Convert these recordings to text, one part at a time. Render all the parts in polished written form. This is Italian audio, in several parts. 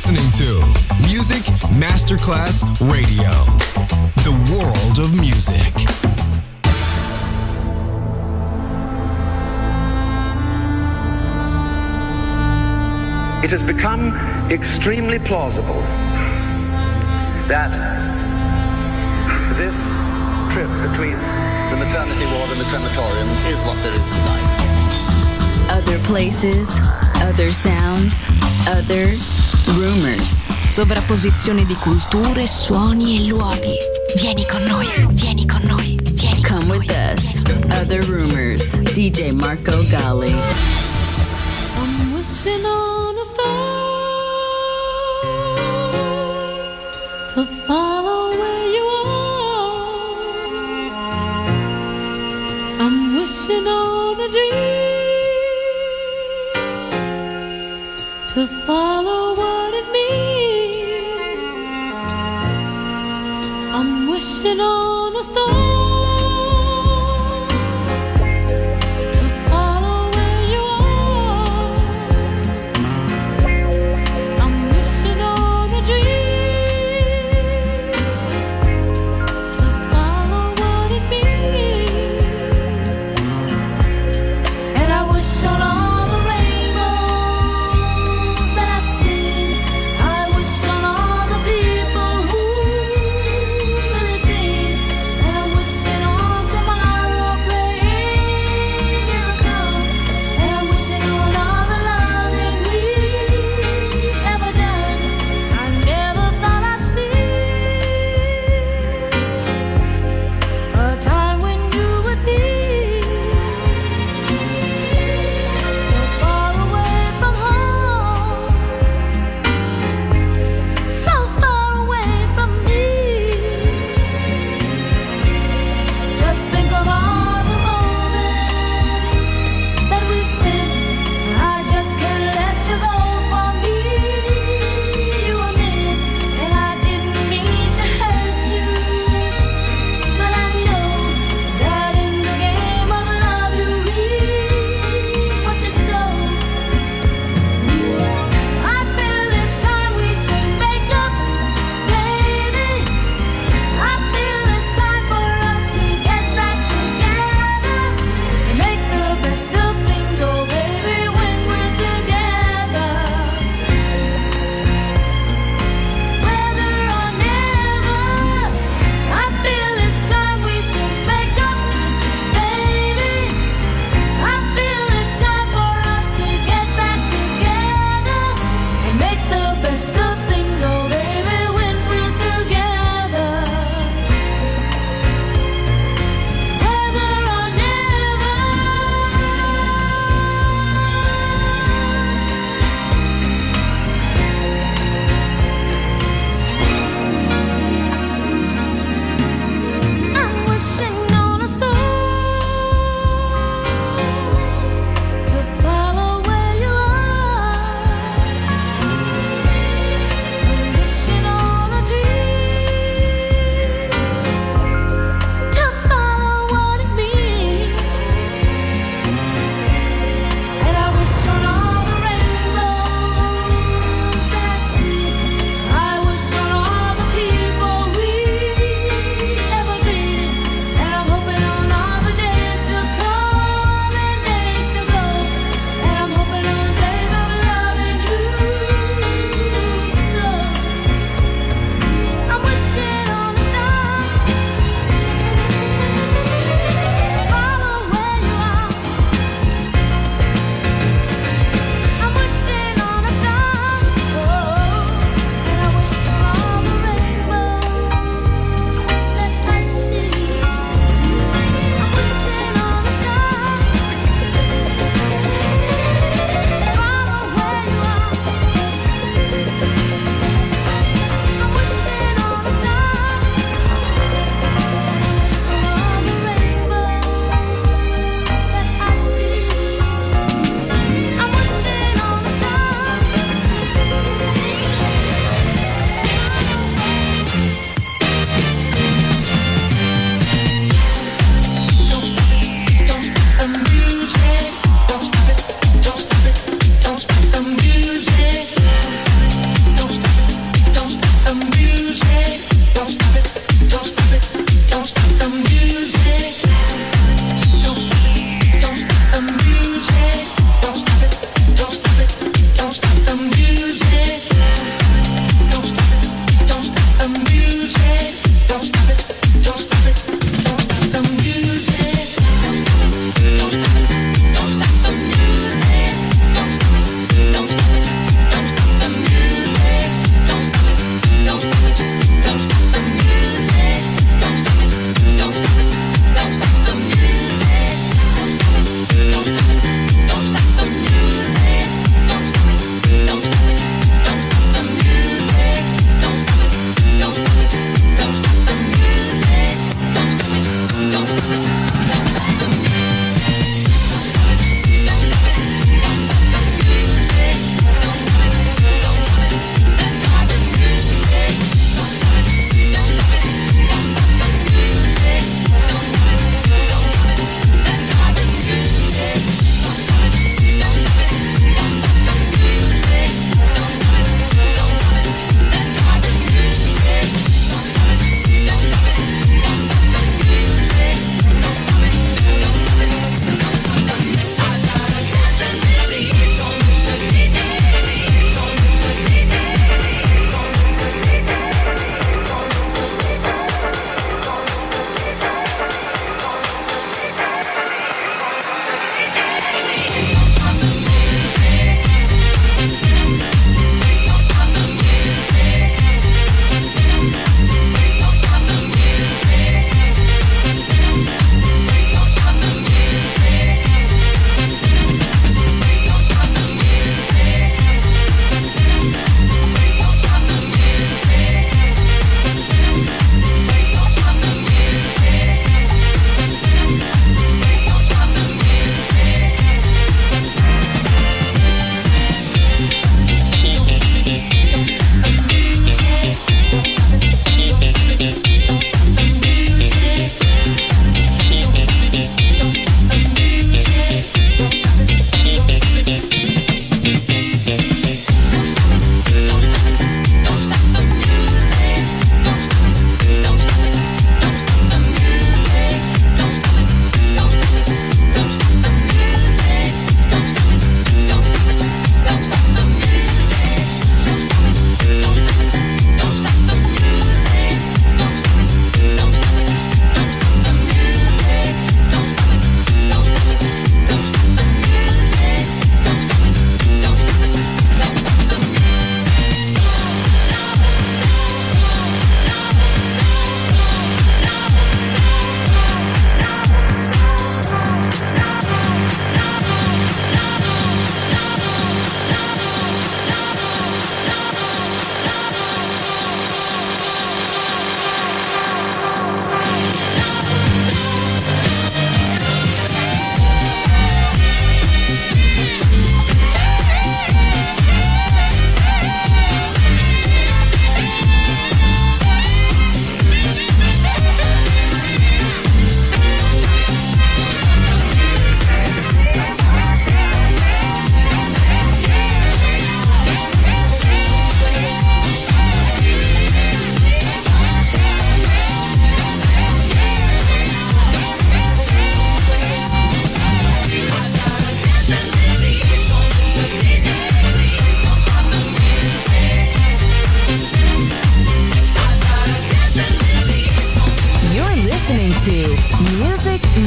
listening to Music Masterclass Radio, the world of music. It has become extremely plausible that this trip between the maternity ward and the crematorium is what there is tonight. Other places, other sounds, other rumors. Sovrapposizione di culture, suoni e luoghi. Vieni con noi, vieni con noi, vieni con noi. Come with us. Other rumors. DJ Marco Gally. I'm wishing on a star to follow where you are. I'm wishing on a dream to follow what it means. I'm wishing on a star. I wish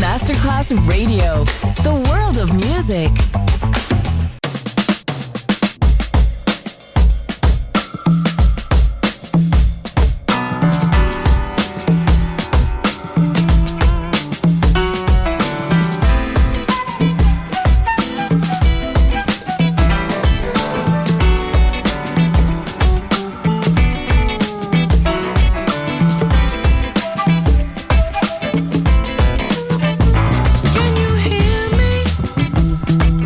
Masterclass Radio, the world of music. Can you hear me?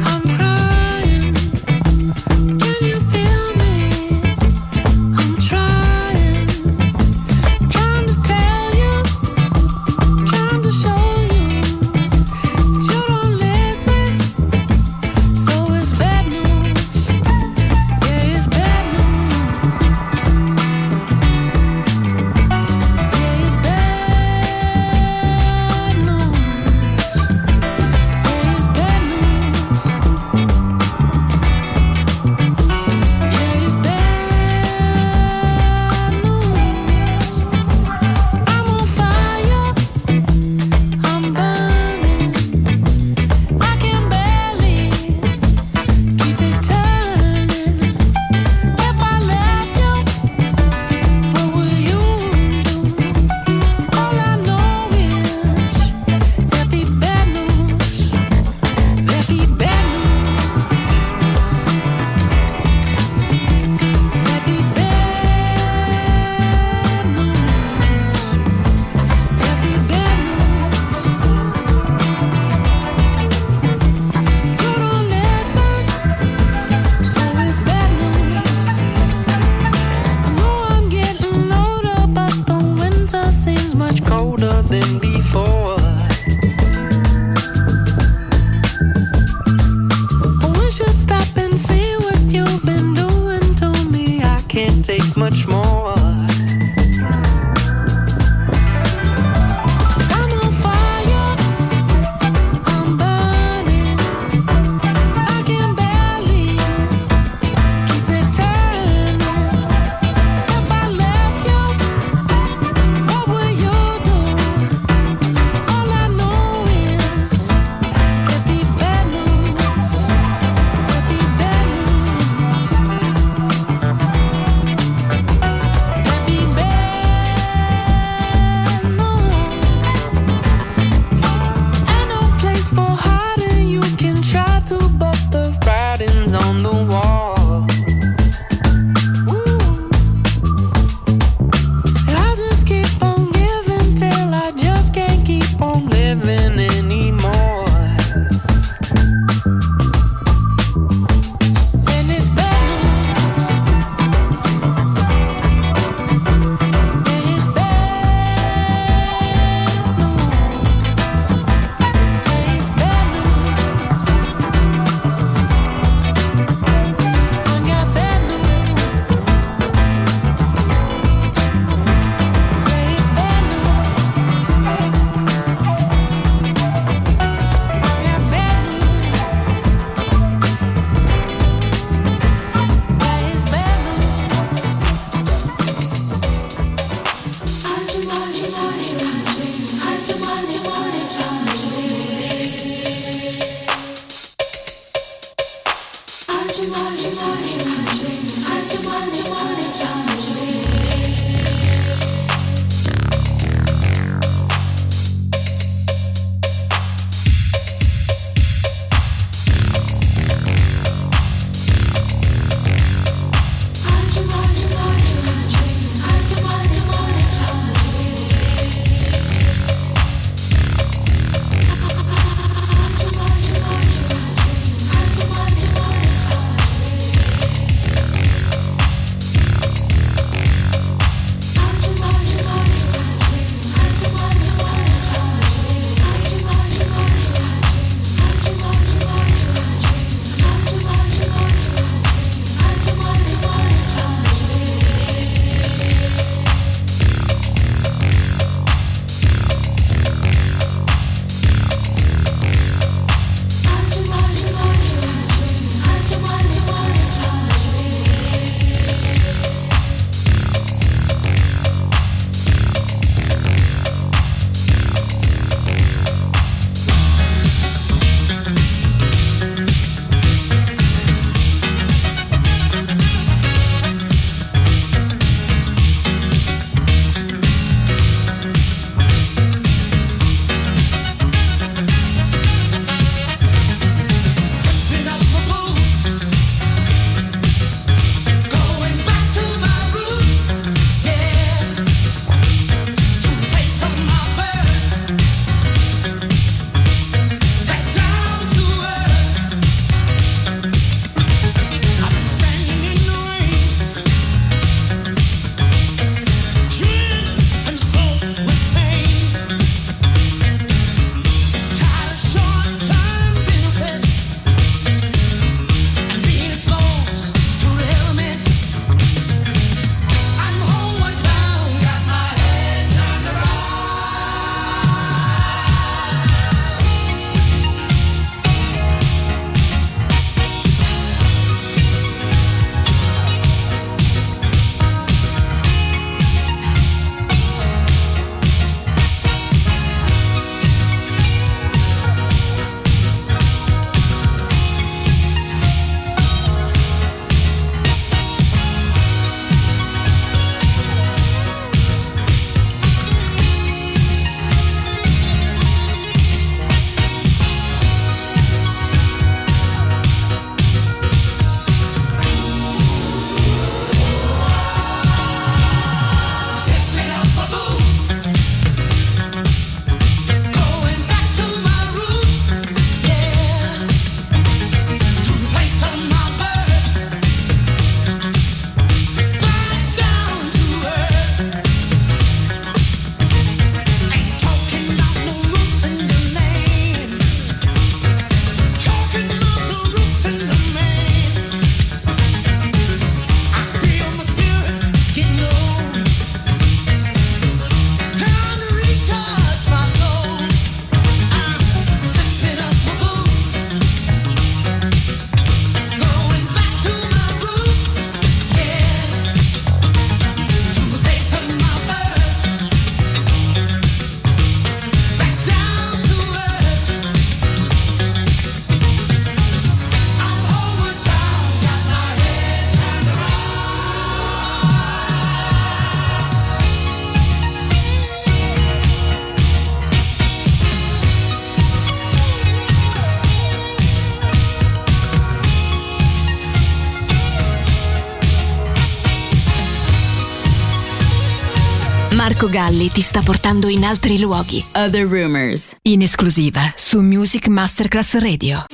Marco Galli ti sta portando in altri luoghi. Other Rumors, in esclusiva su Music Masterclass Radio.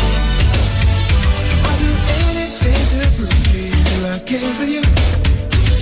Came for you.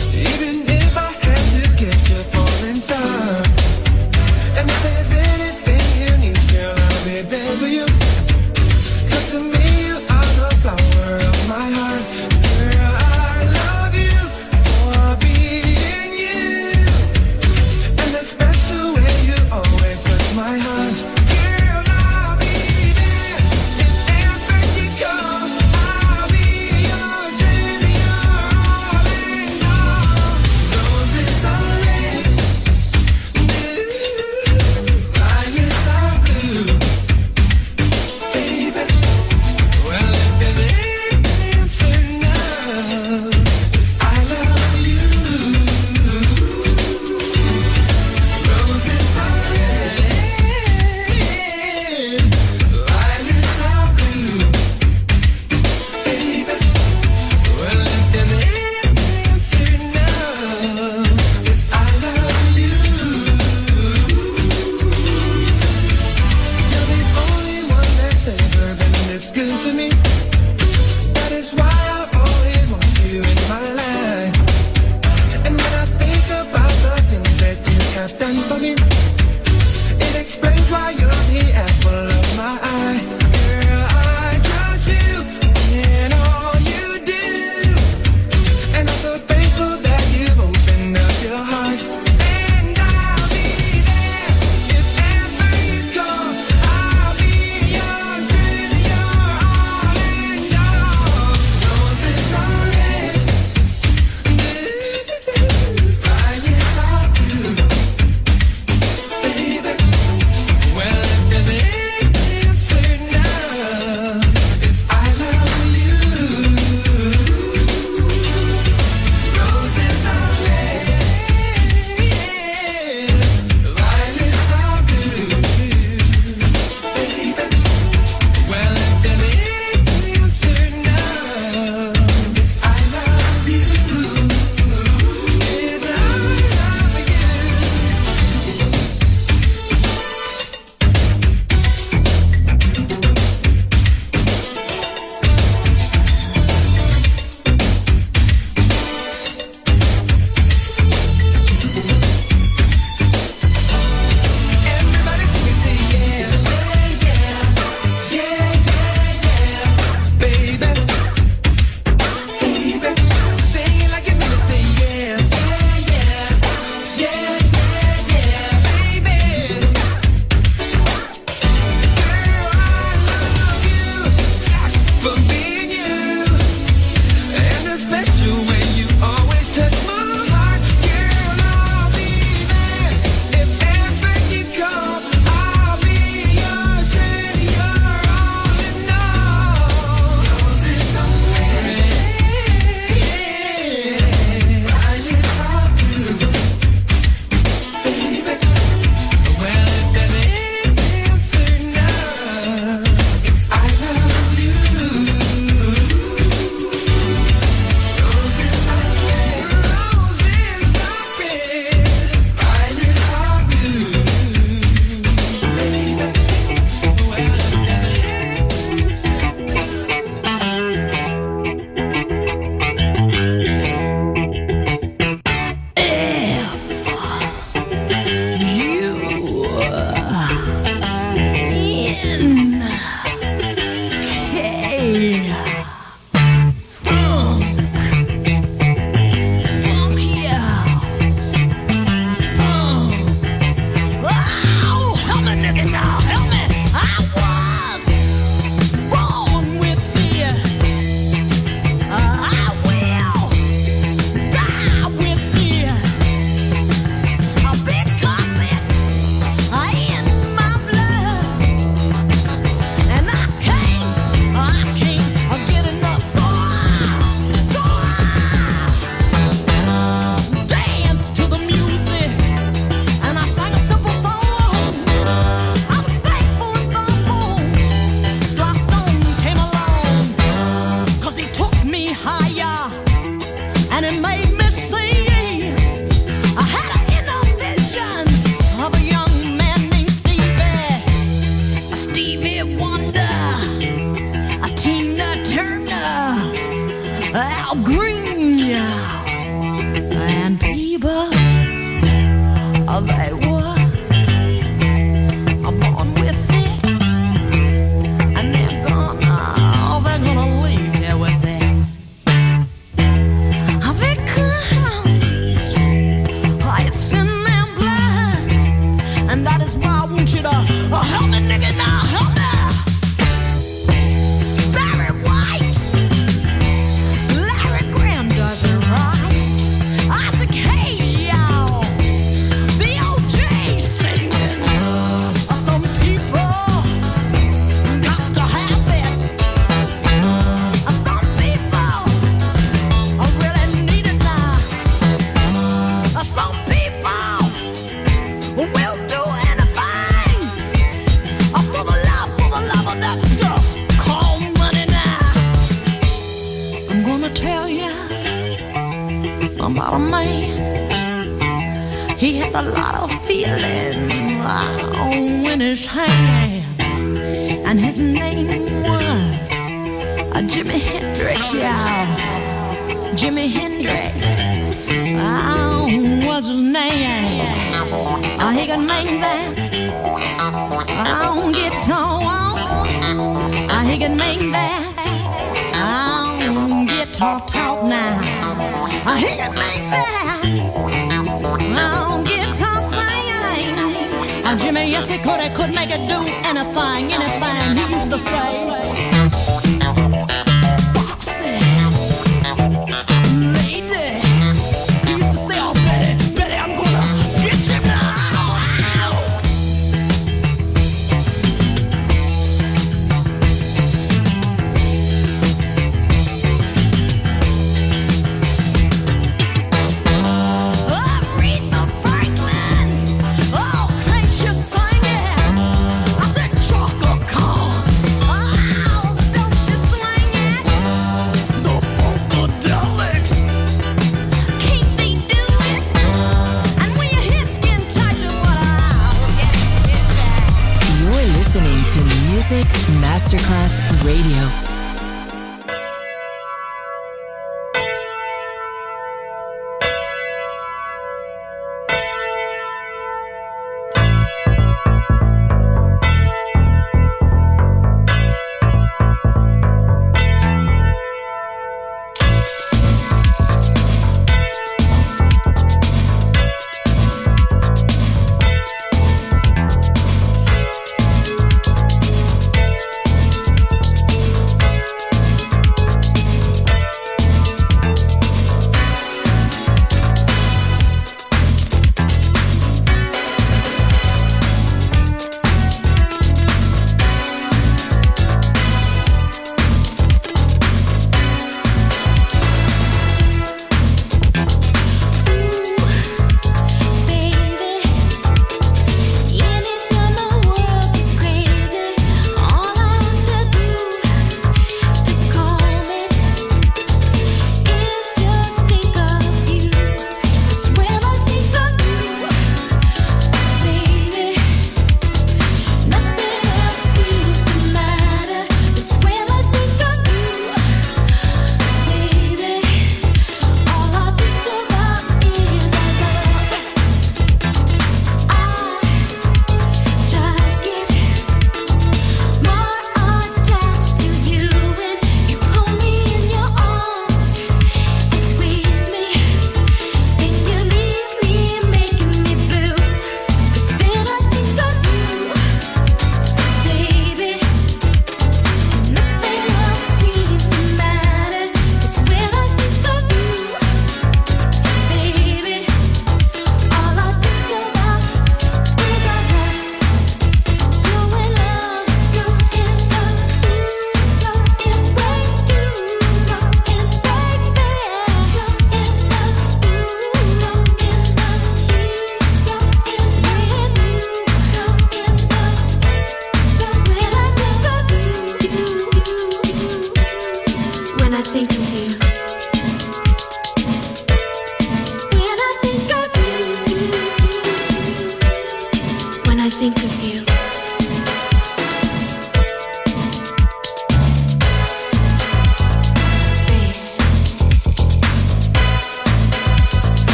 I want you to help me, nigga, now, help me. Barry White, Larry Graham does it right. Isaac Hayes, y'all, the OJ singing. Some people got to have it. Some people really need it now. Some people will do anything for the love of that stuff called money now. I'm gonna tell you about a man. He had a lot of feeling in his hands, and his name was Jimi Hendrix, y'all. Jimi Hendrix. Was his name. He could make that guitar. He could make that guitar talk now. He could make that guitar sing. Jimmy, yes he could make it do anything he used to say. Masterclass Radio.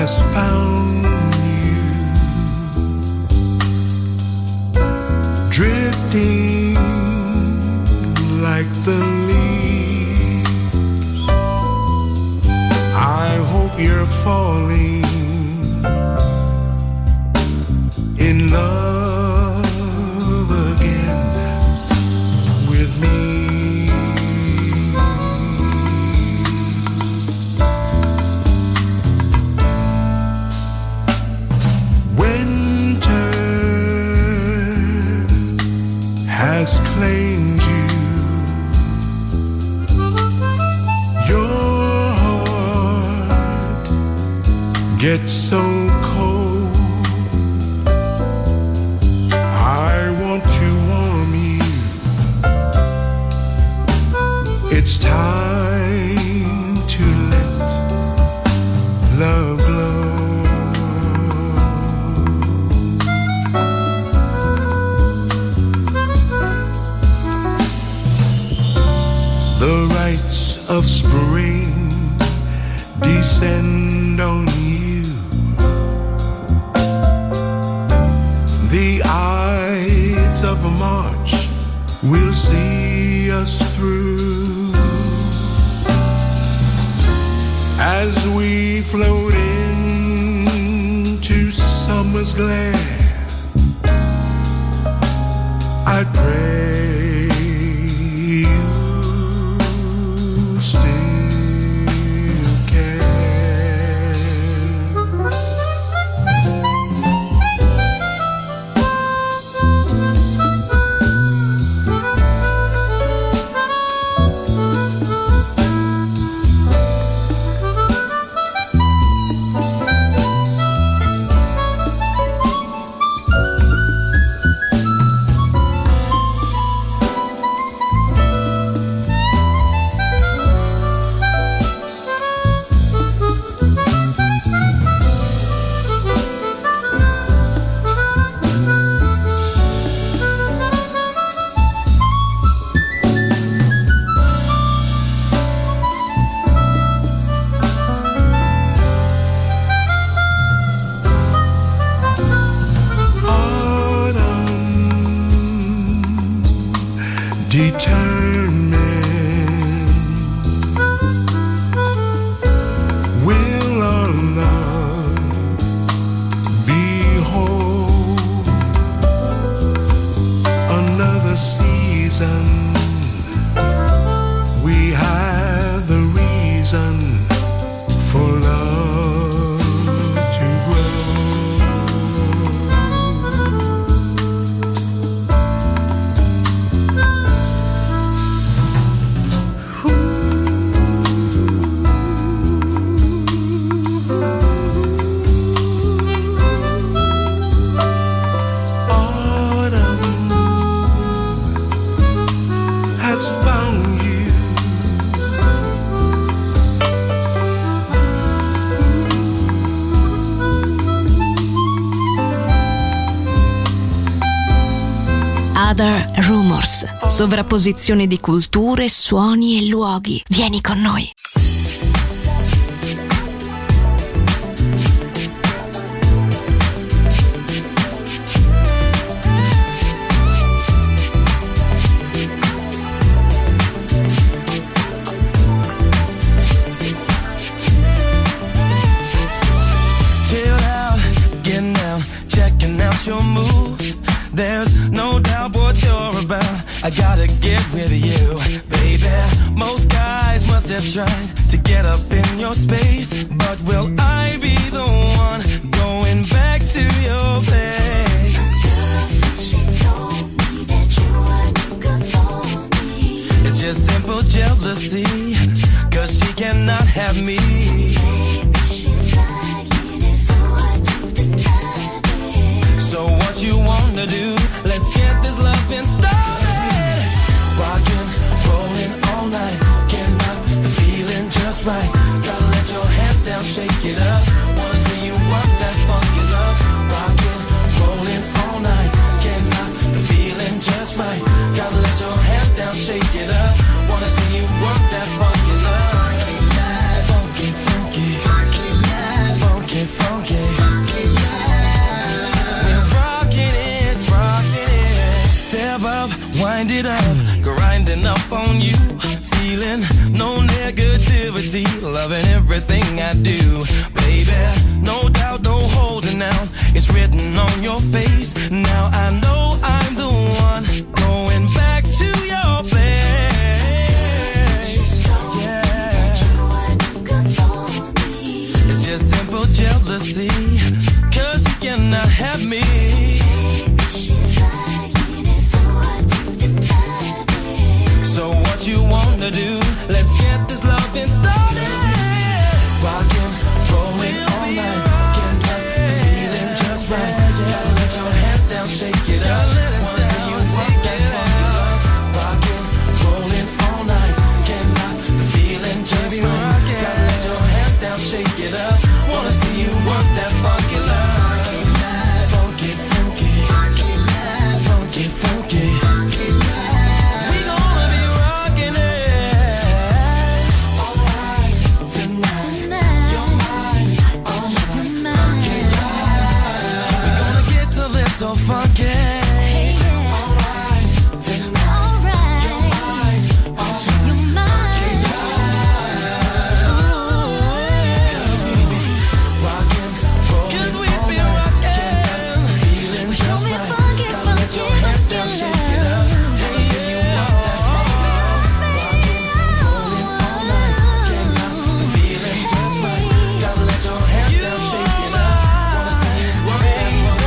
has found you, drifting like the leaves. I hope you're falling in love again with me. Winter has claimed you. Your heart gets so cold. I want to warm you. It's time to let love glow. The rites of spring descend on you. The Ides of March will see us through as we float into summer's glare. I pray you still care. Determined, will our love be whole? Another season, we have the reason for love to grow. Found you. Other Rumors, sovrapposizione di culture, suoni e luoghi. Vieni con noi. Your moves, there's no doubt what you're about. I gotta get with you, baby. Most guys must have tried to get up in your space, but will I be the one going back to your place? She told me that you weren't good for me. It's just simple jealousy, 'cause she cannot have me. So what you wanna do? Let's get this loving started. Rockin', rollin' all night. Can't knock the feeling just right. Gotta let your head down, shake it up. Wanna see you work that funky love. Rockin', rollin' all night. Can't knock the feeling just right. Gotta let your head down, shake it up. Wanna see you work that funky love. Funky, funky, funky, funky. on you, feeling no negativity, loving everything I do, baby. No doubt, no holding out, it's written on your face. Now I know I'm the one going back to your place. Yeah. It's just simple jealousy, 'cause you cannot have me. So what you wanna do? Let's get this loving started. Rockin', rollin' all night. Can't get the feeling just right. Gotta let your head down, shake it up. Wanna see you rock that funky love. Rockin', rollin' all night. Can't get the feeling just right. Gotta let your head down, shake it up. Wanna see you work that funky love. Funky, funky, funky, funky. So funky. Hey, yeah. Alright, tonight. Alright. You're mine. You're mine. Rockin', rollin', 'cause we be rockin'. Feeling just right. Funky, gotta let your head down, shake it up. Wanna see you rock that funky love. Rockin', rollin' all night. Can't stop the feeling just right. Gotta let your head down, shake it up. Wanna see you work that funky love.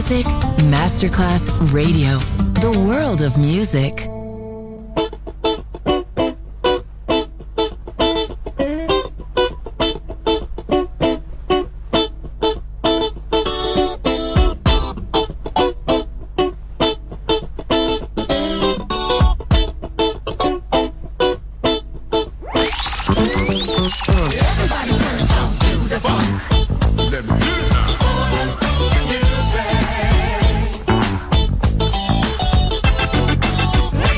Music Masterclass Radio. The world of music. Music.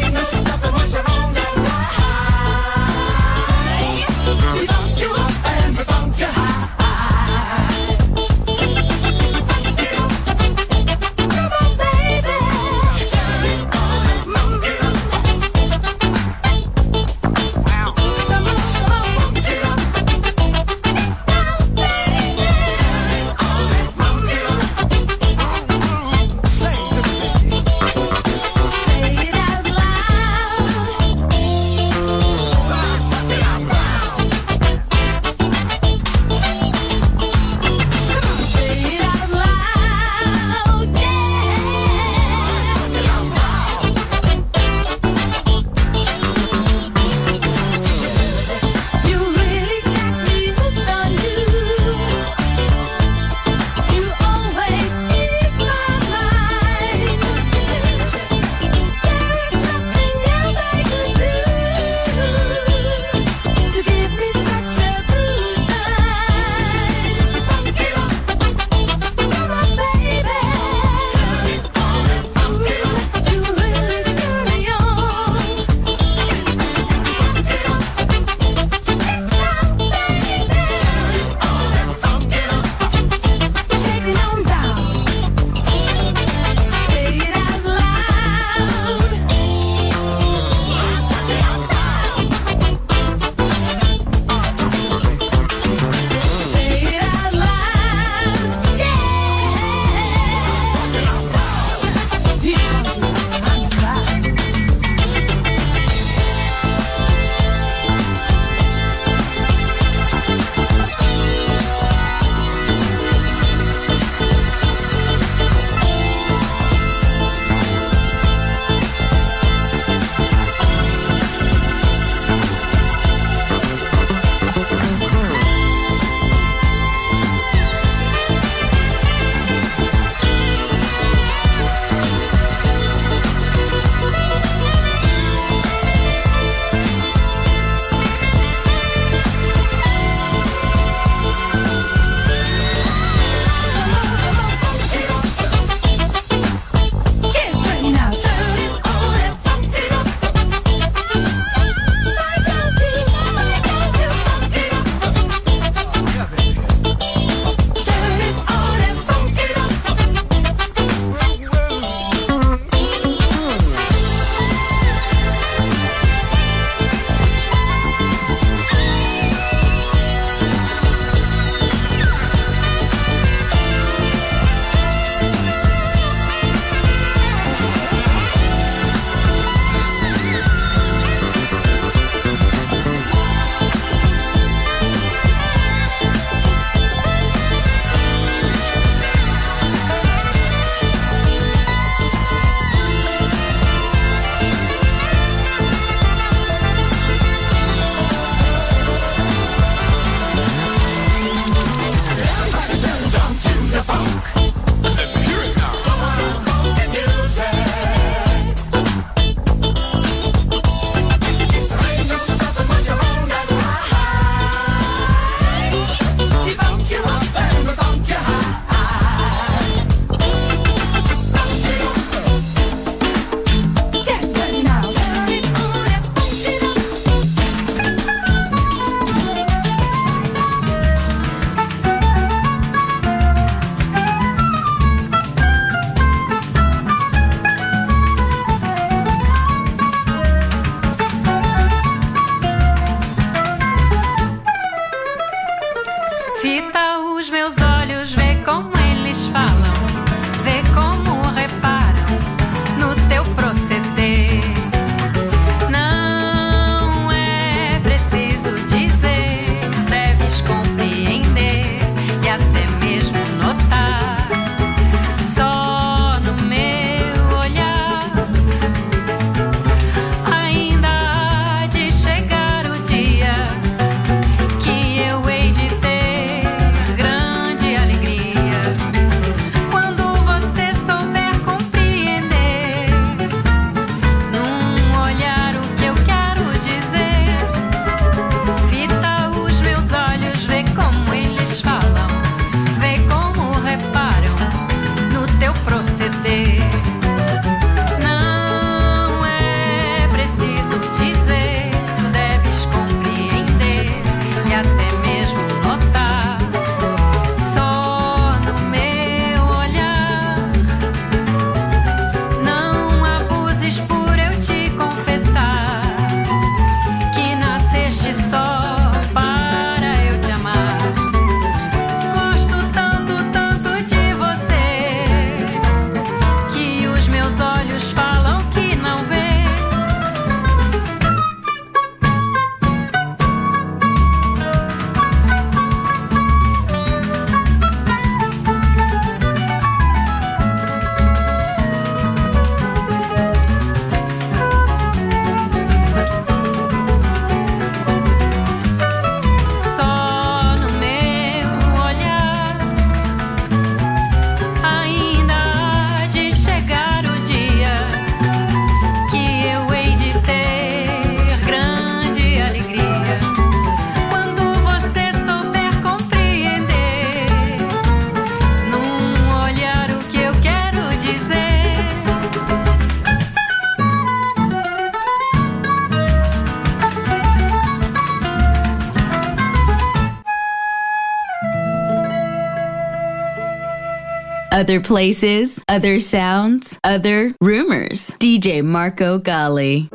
Other places, other sounds, other rumors. DJ Marco Gally.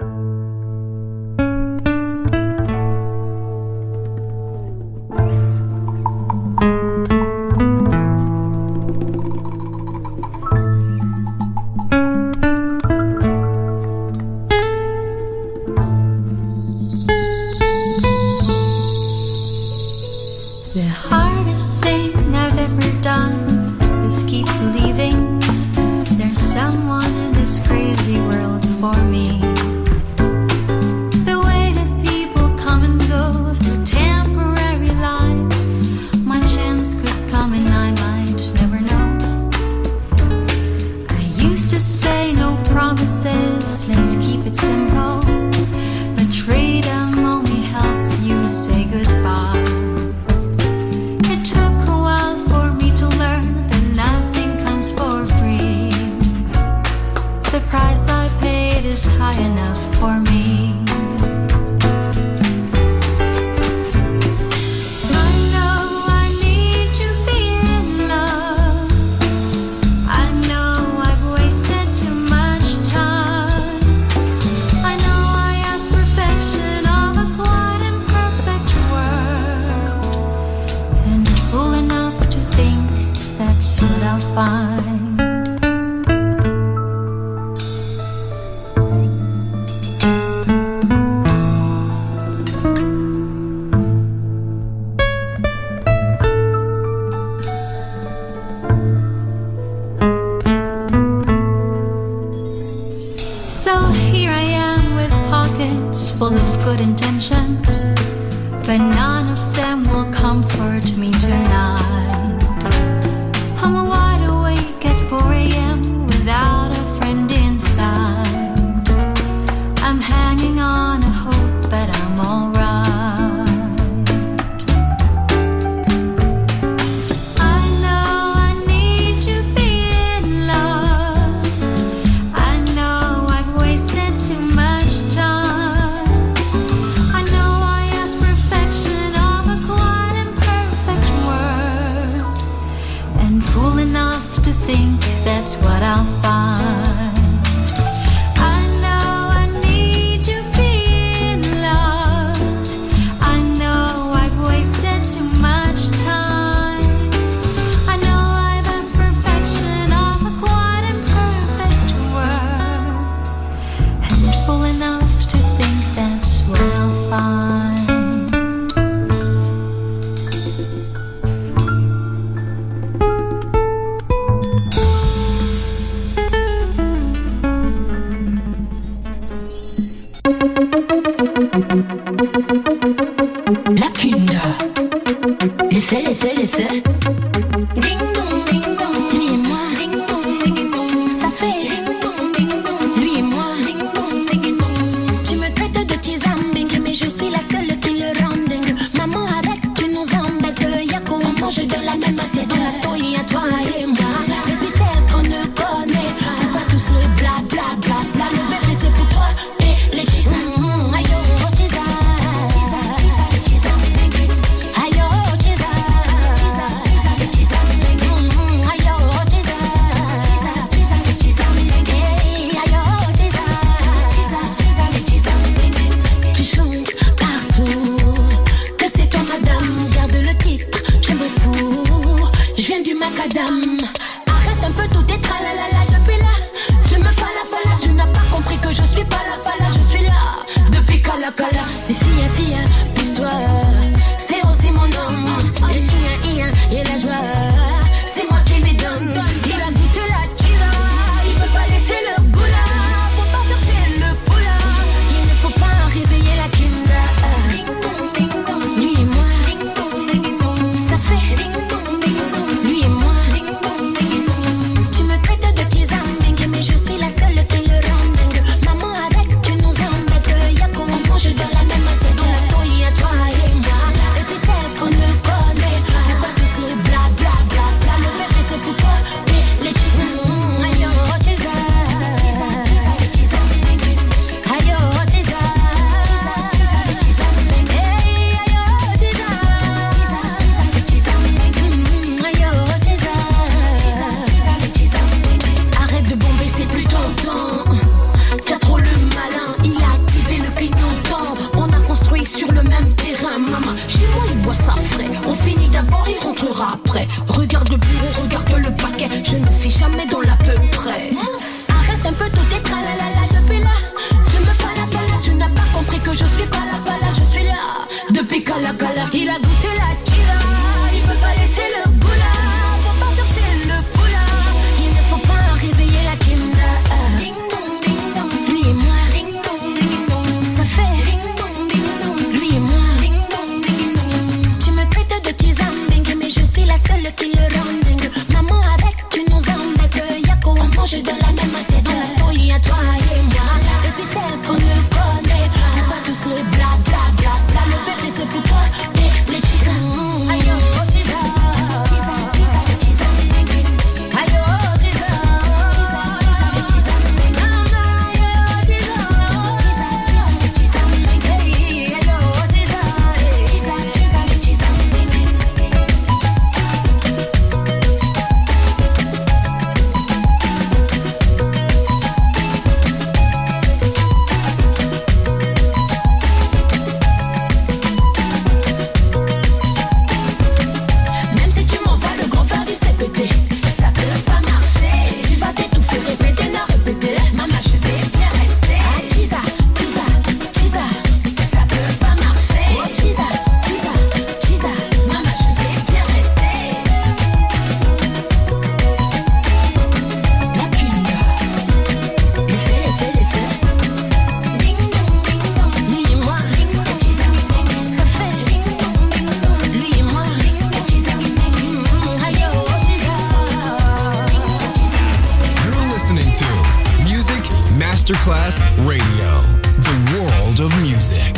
Arrête un peu tout tes tralala depuis là. Tu me fais la folle, tu n'as pas clignotant. T'as trop le malin, il a activé le clignotant. On a construit sur le même terrain, maman. Chez moi, il boit ça frais. On finit d'abord, il rentrera après. Regarde le bureau, regarde le paquet. Je ne fais jamais dans l'à peu près. Arrête un peu tout est tralalala depuis là. Tu me fala. Tu n'as pas compris que je suis pas là. Je suis là depuis Kala. Il a goûté la tira. Il peut pas laisser le goût là. Faut pas chercher le poula. Il ne faut pas réveiller la Kimda. Ding dong ding dong. Lui et moi. Ding dong ding dong. Ça fait ding dong ding dong. Lui et moi. Ding dong ding dong. Tu me traites de tizambing, mais je suis la seule qui le rend dingue. Maman avec, tu nous embêtes. Y'a qu'on mange de la même assiette. Oui, à toi et moi. Et puis celle qu'on ne connaît. On va tous les bla bla bla bla. Le bébé c'est pour toi et les tisans. Aïe oh tisa, tisa tisa tisa. Aïe oh tisa, tisa tisa tisa. Aïe oh tisa, tisa tisa tisa. Aïe oh tisa, tisa tisa tisa. Même si tu m'envoies le grand frère du CPT, ça peut pas marcher. Tu vas t'étouffer, répéter, non répéter. Maman, je vais bien rester. Ah, tisa, tisa, tisa, ça peut pas marcher. Oh, tisa, tisa, tisa, maman, je vais bien rester. La Kimda, les faits. Ding dong, ding dong. Lui et moi, ding dong, tisa, ça fait ding dong, ding dong. Lui et moi, ding dong, tisa, aïe oh tisa, You're listening to Music Masterclass Radio, the world of music.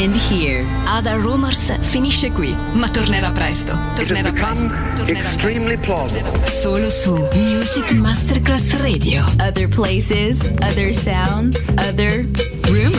end here. Other Rumors finisce qui, ma tornerà presto. Tornerà presto. Extremely plausible. Solo su Music Masterclass Radio. Other places, other sounds, other rumors.